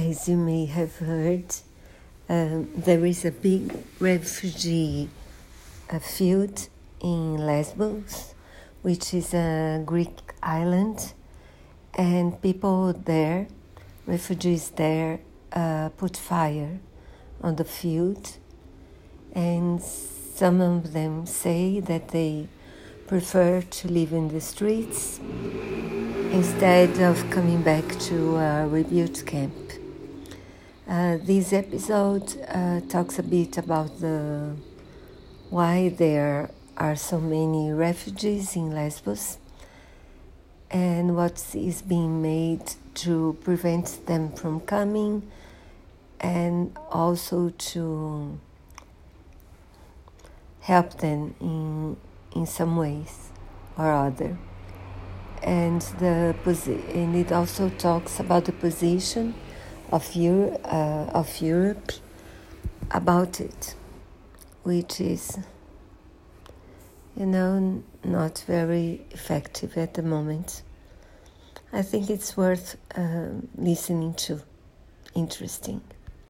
As you may have heard, there is a big refugee field in Lesbos, which is a Greek island, and people there, refugees there, put fire on the field, and some of them say that they prefer to live in the streets instead of coming back to a rebuild camp. This episode talks a bit about why there are so many refugees in Lesbos and what is being made to prevent them from coming, and also to help them in some ways or other. And it also talks about the position of Europe about it, which is, not very effective at the moment. I think it's worth listening to. Interesting.